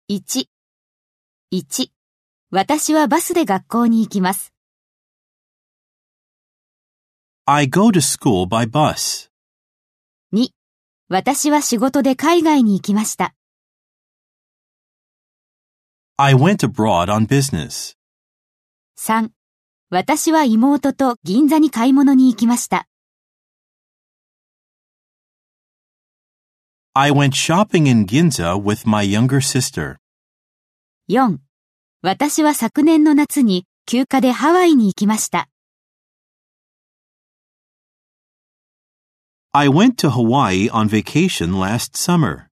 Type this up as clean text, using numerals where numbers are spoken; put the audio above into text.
1、1、私はバスで学校に行きます。 I go to school by bus. 2、私は仕事で海外に行きました。 I went abroad on business. 3、私は妹と銀座に買い物に行きました。 I went shopping in Ginza with my younger sister. 4、私は昨年の夏に休暇でハワイに行きました。 I went to Hawaii on vacation last summer.